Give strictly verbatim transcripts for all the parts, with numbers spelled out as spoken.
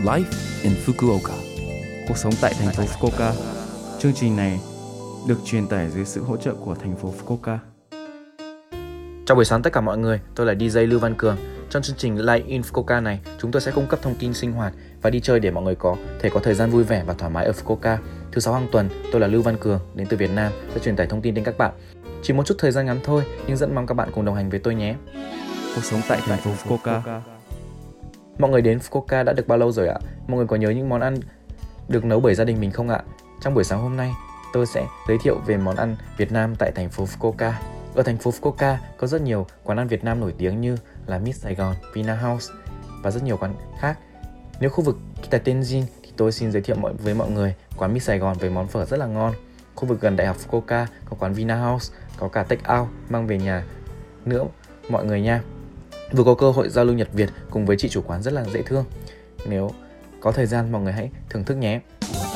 Life in Fukuoka. Cuộc sống tại thành phố Fukuoka. Chương trình này được truyền tải dưới sự hỗ trợ của thành phố Fukuoka. Chào buổi sáng tất cả mọi người, tôi là đi jay Lưu Văn Cường. Trong chương trình Life in Fukuoka này, chúng tôi sẽ cung cấp thông tin sinh hoạt và đi chơi để mọi người có thể có thời gian vui vẻ và thoải mái ở Fukuoka. Thứ sáu hàng tuần, tôi là Lưu Văn Cường, đến từ Việt Nam, sẽ truyền tải thông tin đến các bạn. Chỉ một chút thời gian ngắn thôi, nhưng rất mong các bạn cùng đồng hành với tôi nhé. Cuộc sống tại thành phố Fukuoka. Mọi người đến Fukuoka đã được bao lâu rồi ạ? Mọi người có nhớ những món ăn được nấu bởi gia đình mình không ạ? Trong buổi sáng hôm nay, tôi sẽ giới thiệu về món ăn Việt Nam tại thành phố Fukuoka. Ở thành phố Fukuoka có rất nhiều quán ăn Việt Nam nổi tiếng như là Miss Sài Gòn, Vina House và rất nhiều quán khác. Nếu khu vực Kita Tenjin thì tôi xin giới thiệu với mọi người quán Miss Sài Gòn với món phở rất là ngon. Khu vực gần Đại học Fukuoka có quán Vina House, có cả take out mang về nhà nữa mọi người nha. Vừa có cơ hội giao lưu Nhật Việt cùng với chị chủ quán rất là dễ thương. Nếu có thời gian mọi người hãy thưởng thức nhé.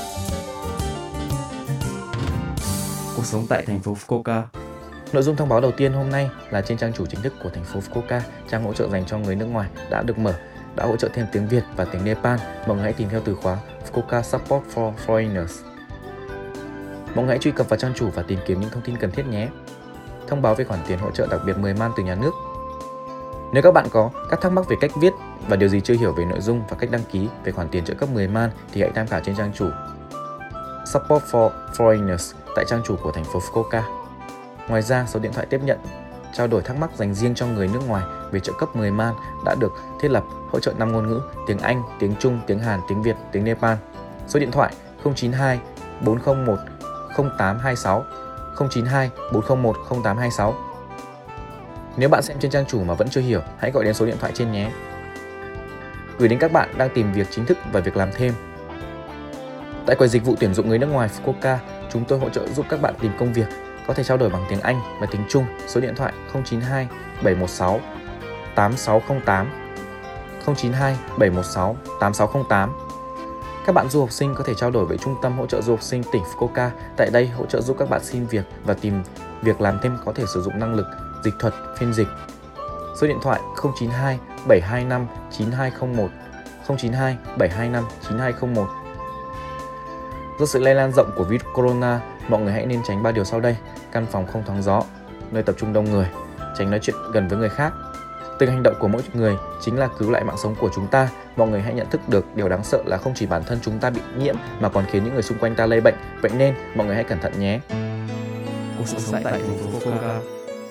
Cuộc sống tại thành phố Fukuoka. Nội dung thông báo đầu tiên hôm nay là trên trang chủ chính thức của thành phố Fukuoka, trang hỗ trợ dành cho người nước ngoài đã được mở, đã hỗ trợ thêm tiếng Việt và tiếng Nepal. Mọi người hãy tìm theo từ khóa Fukuoka Support for Foreigners. Mọi người hãy truy cập vào trang chủ và tìm kiếm những thông tin cần thiết nhé. Thông báo về khoản tiền hỗ trợ đặc biệt mười man từ nhà nước. Nếu các bạn có các thắc mắc về cách viết và điều gì chưa hiểu về nội dung và cách đăng ký về khoản tiền trợ cấp mười man thì hãy tham khảo trên trang chủ Support for Foreigners tại trang chủ của thành phố Fukuoka. Ngoài ra, số điện thoại tiếp nhận trao đổi thắc mắc dành riêng cho người nước ngoài về trợ cấp mười man đã được thiết lập, hỗ trợ năm ngôn ngữ: tiếng Anh, tiếng Trung, tiếng Hàn, tiếng Việt, tiếng Nepal. Số điện thoại không chín hai bốn không một không tám hai sáu, không chín hai bốn không một không tám hai sáu. Nếu bạn xem trên trang chủ mà vẫn chưa hiểu, hãy gọi đến số điện thoại trên nhé. Gửi đến các bạn đang tìm việc chính thức và việc làm thêm. Tại quầy dịch vụ tuyển dụng người nước ngoài Fukuoka, chúng tôi hỗ trợ giúp các bạn tìm công việc, có thể trao đổi bằng tiếng Anh và tiếng Trung. Số điện thoại không chín hai bảy một sáu tám sáu không tám, không chín hai bảy một sáu tám sáu không tám. Các bạn du học sinh có thể trao đổi với Trung tâm hỗ trợ du học sinh tỉnh Fukuoka. Tại đây hỗ trợ giúp các bạn xin việc và tìm việc làm thêm, có thể sử dụng năng lực dịch thuật, phiên dịch. Số điện thoại không chín hai bảy hai năm chín hai không một, không chín hai bảy hai năm chín hai không một. Do sự lây lan rộng của virus corona, mọi người hãy nên tránh ba điều sau đây: căn phòng không thoáng gió, nơi tập trung đông người, tránh nói chuyện gần với người khác. Từng hành động của mỗi người chính là cứu lại mạng sống của chúng ta. Mọi người hãy nhận thức được điều đáng sợ là không chỉ bản thân chúng ta bị nhiễm mà còn khiến những người xung quanh ta lây bệnh. Vậy nên mọi người hãy cẩn thận nhé. Cuộc sống tại thành phố Fukuoka.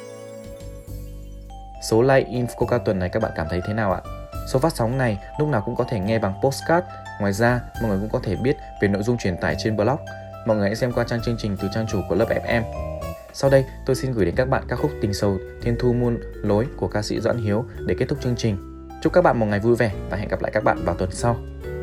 Số Live in Fukuoka tuần này các bạn cảm thấy thế nào ạ? Số phát sóng này lúc nào cũng có thể nghe bằng postcard. Ngoài ra, mọi người cũng có thể biết về nội dung truyền tải trên blog. Mọi người hãy xem qua trang chương trình từ trang chủ của Love ép em. Sau đây, tôi xin gửi đến các bạn ca khúc Tình Sầu Thiên Thu Muôn Lối của ca sĩ Doãn Hiếu để kết thúc chương trình. Chúc các bạn một ngày vui vẻ và hẹn gặp lại các bạn vào tuần sau.